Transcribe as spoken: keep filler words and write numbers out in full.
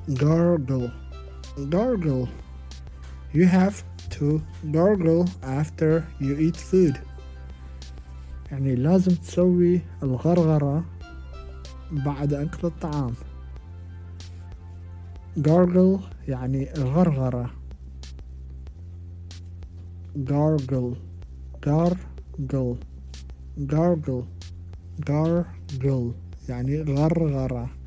gargle gargle. You have to gargle after you eat food. يعني لازم تسوي الغرغرة بعد أكل الطعام. gargle يعني غرغرة. gargle gargle gargle gargle يعني غرغرة.